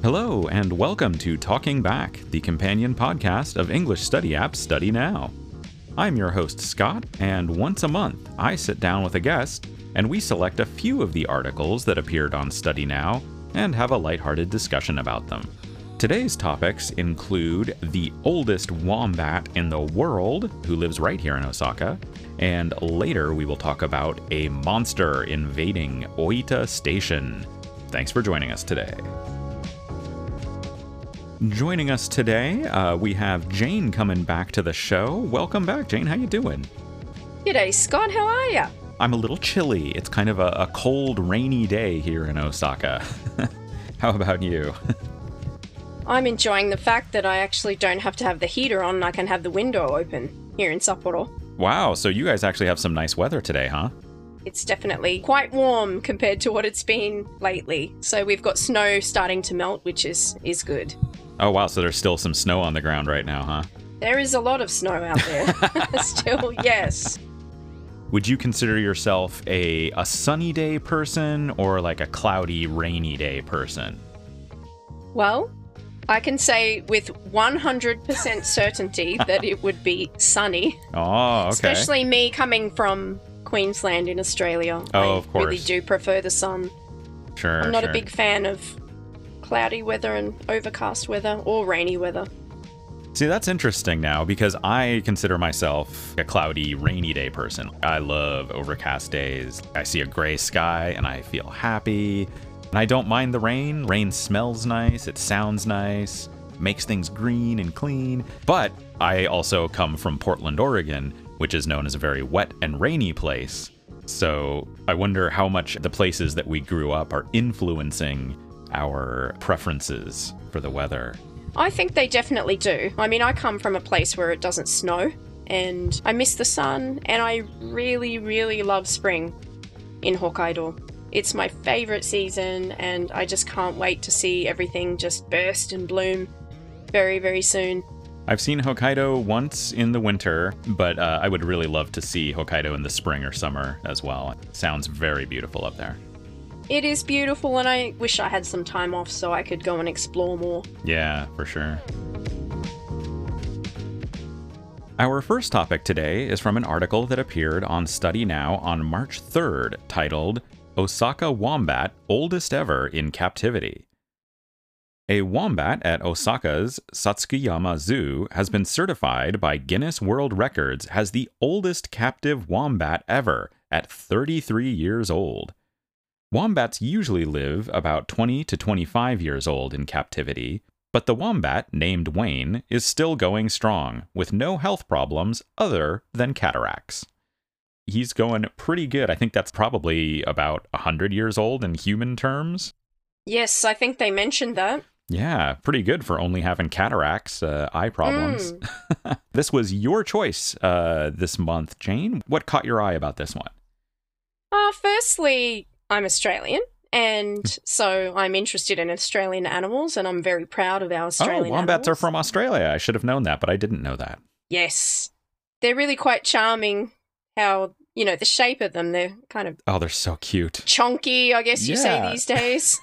Hello, and welcome to Talking Back, the companion podcast of English study app Study Now. I'm your host, Scott, and once a month, I sit down with a guest, and we select a few of the articles that appeared on Study Now and have a lighthearted discussion about them. Today's topics include the oldest wombat in the world, who lives right here in Osaka, and later we will talk about a monster invading Oita Station. Thanks for joining us today. Joining us today, we have Jane coming back to the show. Welcome back, Jane. How you doing? G'day, Scott. How are ya? I'm a little chilly. It's kind of a cold, rainy day here in Osaka. How about you? I'm enjoying the fact that I actually don't have to have the heater on and I can have the window open here in Sapporo. Wow, so you guys actually have some nice weather today, huh? It's definitely quite warm compared to what it's been lately. So we've got snow starting to melt, which is good. Oh, wow, so there's still some snow on the ground right now, huh? There is a lot of snow out there. Still, yes. Would you consider yourself a sunny day person or like a cloudy, rainy day person? Well, I can say with 100% certainty that it would be sunny. Oh, okay. Especially me coming from Queensland in Australia. Oh, of course. I really do prefer the sun. Sure, I'm not a big fan of cloudy weather and overcast weather or rainy weather. See, that's interesting now because I consider myself a cloudy, rainy day person. I love overcast days. I see a gray sky and I feel happy. And I don't mind the rain. Rain smells nice. It sounds nice. Makes things green and clean. But I also come from Portland, Oregon, which is known as a very wet and rainy place. So I wonder how much the places that we grew up are influencing our preferences for the weather. I think they definitely do. I mean, I come from a place where it doesn't snow, and I miss the sun, and I really, really love spring in Hokkaido. It's my favorite season, and I just can't wait to see everything just burst and bloom very, very soon. I've seen Hokkaido once in the winter, but I would really love to see Hokkaido in the spring or summer as well. It sounds very beautiful up there. It is beautiful, and I wish I had some time off so I could go and explore more. Yeah, for sure. Our first topic today is from an article that appeared on Study Now on March 3rd, titled, Osaka Wombat Oldest Ever in Captivity. A wombat at Osaka's Satsukiyama Zoo has been certified by Guinness World Records as the oldest captive wombat ever at 33 years old. Wombats usually live about 20 to 25 years old in captivity, but the wombat, named Wayne, is still going strong, with no health problems other than cataracts. He's going pretty good. I think that's probably about 100 years old in human terms. Yes, I think they mentioned that. Yeah, pretty good for only having cataracts, eye problems. This was your choice this month, Jane. What caught your eye about this one? Firstly, I'm Australian, and so I'm interested in Australian animals, and I'm very proud of our Australian animals. Wombats are from Australia. I should have known that, but I didn't know that. Yes. They're really quite charming how, the shape of them, they're kind of... Oh, they're so cute. Chonky, I guess you say these days.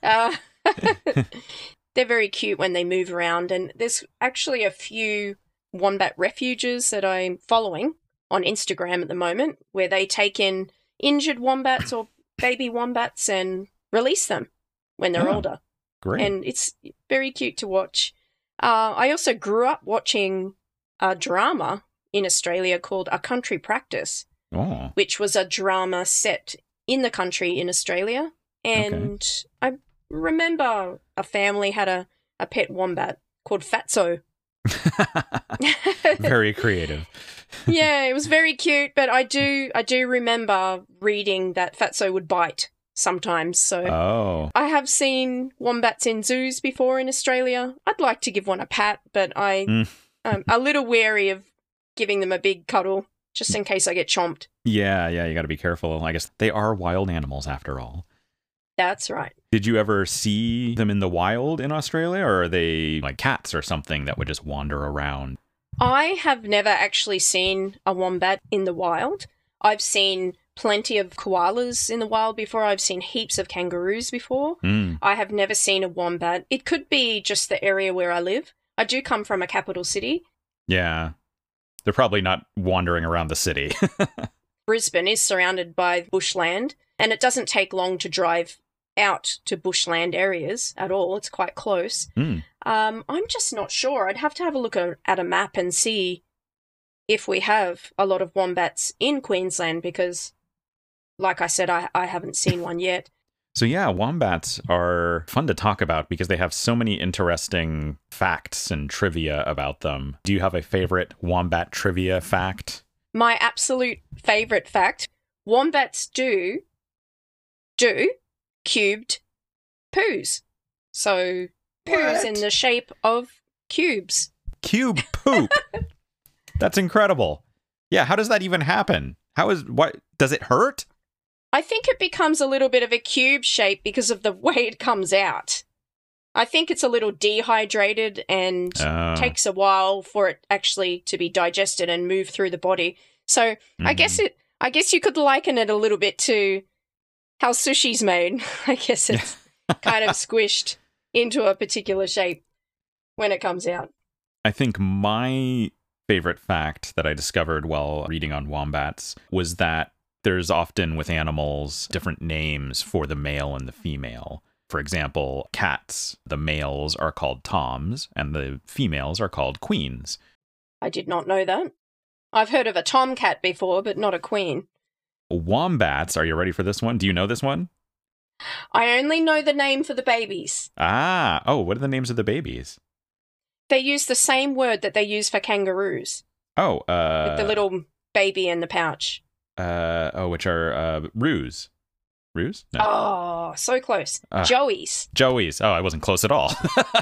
They're very cute when they move around, and there's actually a few wombat refuges that I'm following on Instagram at the moment, where they take in injured wombats or baby wombats and release them when they're older. Great. And it's very cute to watch. I also grew up watching a drama in Australia called A Country Practice, which was a drama set in the country in Australia. And I remember a family had a pet wombat called Fatso. Very creative. Yeah, it was very cute, but I do remember reading that Fatso would bite sometimes. So I have seen wombats in zoos before in Australia. I'd like to give one a pat, but I'm a little wary of giving them a big cuddle just in case I get chomped. Yeah, you got to be careful. I guess they are wild animals after all. That's right. Did you ever see them in the wild in Australia, or are they like cats or something that would just wander around? I have never actually seen a wombat in the wild. I've seen plenty of koalas in the wild before. I've seen heaps of kangaroos before. I have never seen a wombat. It could be just the area where I live. I do come from a capital city. Yeah. They're probably not wandering around the city. Brisbane is surrounded by bushland, and it doesn't take long to drive out to bushland areas at all. It's quite close. I'm just not sure. I'd have to have a look at a map and see if we have a lot of wombats in Queensland because, like I said, I haven't seen one yet. So yeah, wombats are fun to talk about because they have so many interesting facts and trivia about them. Do you have a favorite wombat trivia fact? My absolute favorite fact, wombats do cubed poos. So poos in the shape of cubes. Cube poop. That's incredible. Yeah, how does that even happen? What does it hurt? I think it becomes a little bit of a cube shape because of the way it comes out. I think it's a little dehydrated and takes a while for it actually to be digested and move through the body. So I guess you could liken it a little bit to how sushi's made. I guess it's kind of squished into a particular shape when it comes out. I think my favorite fact that I discovered while reading on wombats was that there's often with animals different names for the male and the female. For example, cats, the males are called toms and the females are called queens. I did not know that. I've heard of a tomcat before, but not a queen. Wombats, are you ready for this one? Do you know this one? I only know the name for the babies. What are the names of the babies? They use the same word that they use for kangaroos. With the little baby in the pouch. Which are roos. Roos? No. Oh, so close. Joeys. Joeys. Oh, I wasn't close at all.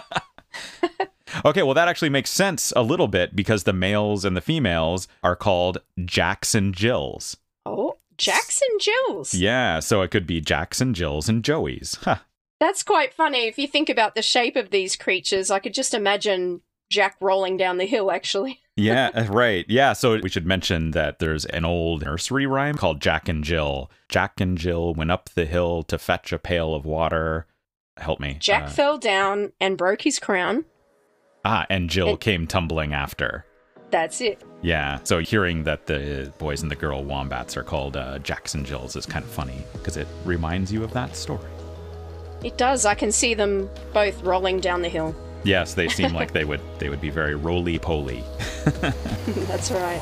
Okay, well, that actually makes sense a little bit because the males and the females are called Jacks and Jills. Oh, Jacks and Jills. Yeah, so it could be Jacks and Jills and Joeys. Huh. That's quite funny. If you think about the shape of these creatures, I could just imagine Jack rolling down the hill, actually. Yeah, right. Yeah, so we should mention that there's an old nursery rhyme called Jack and Jill. Jack and Jill went up the hill to fetch a pail of water. Help me. Jack fell down and broke his crown. And Jill came tumbling after. That's it. Yeah, so hearing that the boys and the girl wombats are called Jacks and Jills is kind of funny because it reminds you of that story. It does. I can see them both rolling down the hill. Yes, they seem like they would be very roly-poly. That's right.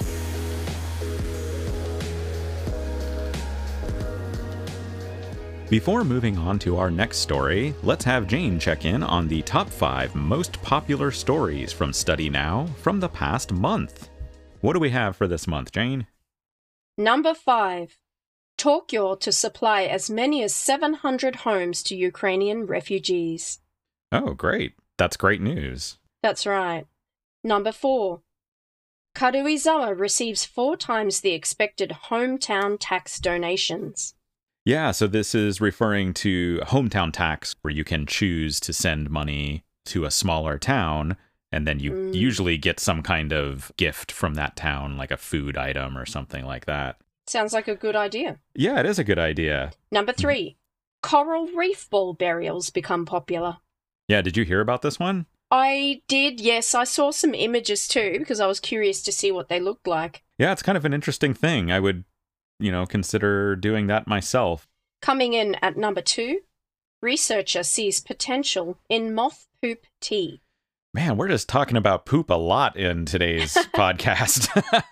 Before moving on to our next story, let's have Jane check in on the top 5 most popular stories from Study Now from the past month. What do we have for this month, Jane? Number 5. Tokyo to supply as many as 700 homes to Ukrainian refugees. Oh, great. That's great news. That's right. Number 4. Karuizawa receives 4 times the expected hometown tax donations. Yeah, so this is referring to hometown tax, where you can choose to send money to a smaller town, and then you usually get some kind of gift from that town, like a food item or something like that. Sounds like a good idea. Yeah, it is a good idea. Number 3. Coral reef ball burials become popular. Yeah, did you hear about this one? I did, yes. I saw some images too, because I was curious to see what they looked like. Yeah, it's kind of an interesting thing. I would consider doing that myself. Coming in at number 2, researcher sees potential in moth poop tea. Man, we're just talking about poop a lot in today's podcast.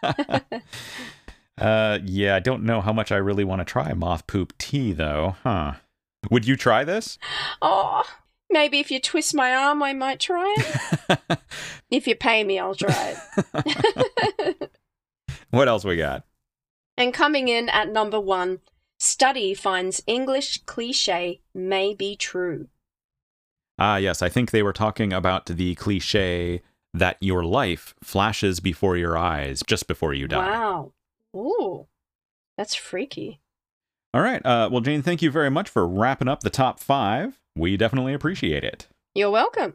Yeah, I don't know how much I really want to try moth poop tea, though. Huh. Would you try this? Oh, maybe if you twist my arm, I might try it. If you pay me, I'll try it. What else we got? And coming in at number 1, study finds English cliché may be true. Yes, I think they were talking about the cliché that your life flashes before your eyes just before you die. Wow. Ooh, that's freaky. All right. Well, Jane, thank you very much for wrapping up the top 5. We definitely appreciate it. You're welcome.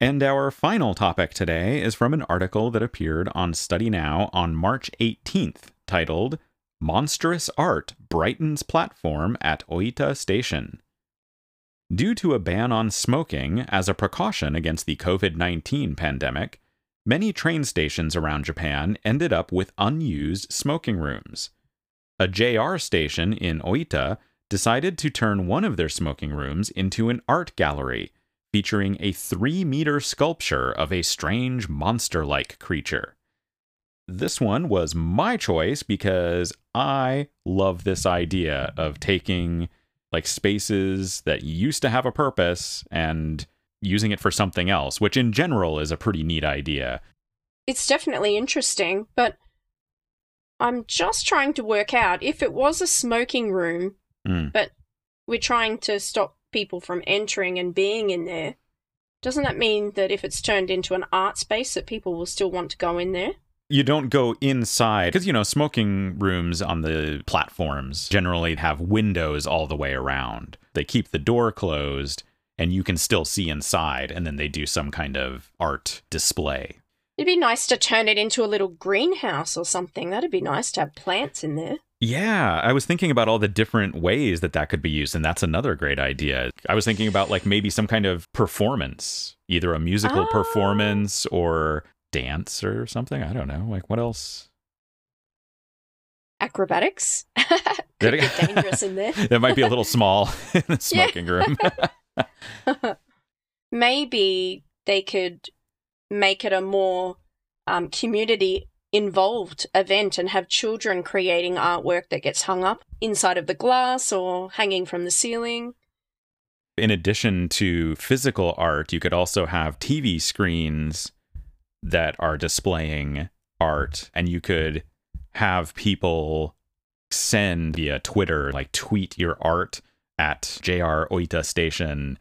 And our final topic today is from an article that appeared on Study Now on March 18th, titled Monstrous Art Brightens Platform at Oita Station. Due to a ban on smoking as a precaution against the COVID-19 pandemic, many train stations around Japan ended up with unused smoking rooms. A JR station in Oita decided to turn one of their smoking rooms into an art gallery, featuring a 3-meter sculpture of a strange monster-like creature. This one was my choice because I love this idea of taking like spaces that used to have a purpose and using it for something else, which in general is a pretty neat idea. It's definitely interesting, but I'm just trying to work out if it was a smoking room, but we're trying to stop people from entering and being in there. Doesn't that mean that if it's turned into an art space that people will still want to go in there? You don't go inside, because, smoking rooms on the platforms generally have windows all the way around. They keep the door closed, and you can still see inside, and then they do some kind of art display. It'd be nice to turn it into a little greenhouse or something. That'd be nice to have plants in there. Yeah, I was thinking about all the different ways that could be used, and that's another great idea. I was thinking about like maybe some kind of performance, either a musical performance or dance or something. I don't know. Like, what else? Acrobatics? Could be dangerous in there. That might be a little small in the smoking room. Maybe they could make it a more community-involved event and have children creating artwork that gets hung up inside of the glass or hanging from the ceiling. In addition to physical art, you could also have TV screens that are displaying art, and you could have people send via Twitter, like tweet your art at JR Oita Station.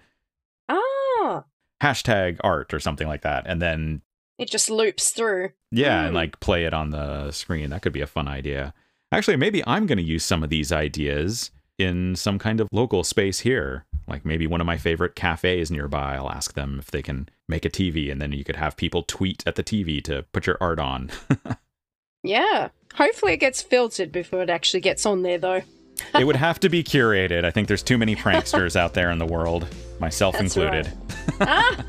Hashtag art or something like that. And then it just loops through. Yeah, and like play it on the screen. That could be a fun idea. Actually, maybe I'm going to use some of these ideas in some kind of local space here. Like maybe one of my favorite cafes nearby. I'll ask them if they can make a TV, and then you could have people tweet at the TV to put your art on. Yeah. Hopefully it gets filtered before it actually gets on there, though. It would have to be curated. I think there's too many pranksters out there in the world, myself included. Right.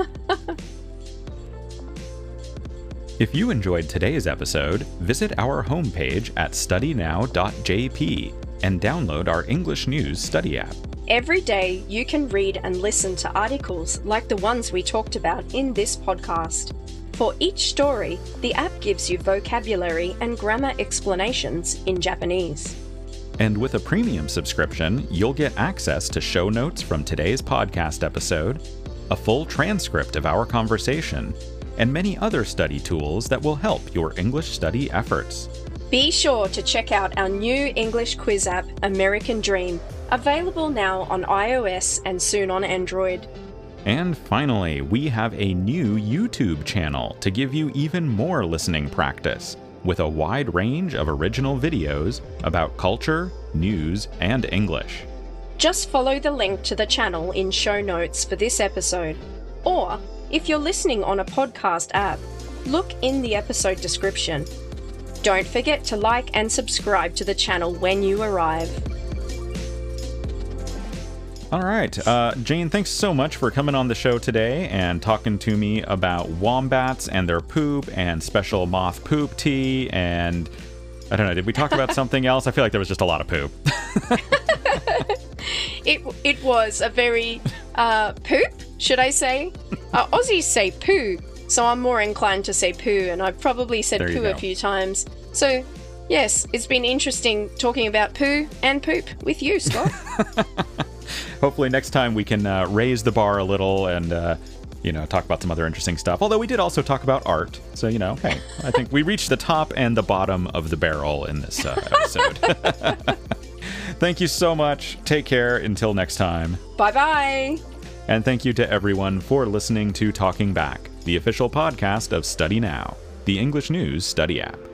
If you enjoyed today's episode, visit our homepage at studynow.jp and download our English News Study app. Every day, you can read and listen to articles like the ones we talked about in this podcast. For each story, the app gives you vocabulary and grammar explanations in Japanese. And with a premium subscription, you'll get access to show notes from today's podcast episode, a full transcript of our conversation, and many other study tools that will help your English study efforts. Be sure to check out our new English quiz app, American Dream, available now on iOS and soon on Android. And finally, we have a new YouTube channel to give you even more listening practice, with a wide range of original videos about culture, news, and English. Just follow the link to the channel in show notes for this episode. Or, if you're listening on a podcast app, look in the episode description. Don't forget to like and subscribe to the channel when you arrive. All right. Jane, thanks so much for coming on the show today and talking to me about wombats and their poop and special moth poop tea. And I don't know, did we talk about something else? I feel like there was just a lot of poop. It was a very poop, should I say? Aussies say poo, so I'm more inclined to say poo, and I've probably said poo a few times. So, yes, it's been interesting talking about poo and poop with you, Scott. Hopefully next time we can raise the bar a little and, talk about some other interesting stuff. Although we did also talk about art. So, hey, I think we reached the top and the bottom of the barrel in this episode. Thank you so much. Take care. Until next time. Bye-bye. And thank you to everyone for listening to Talking Back, the official podcast of Study Now, the English News Study app.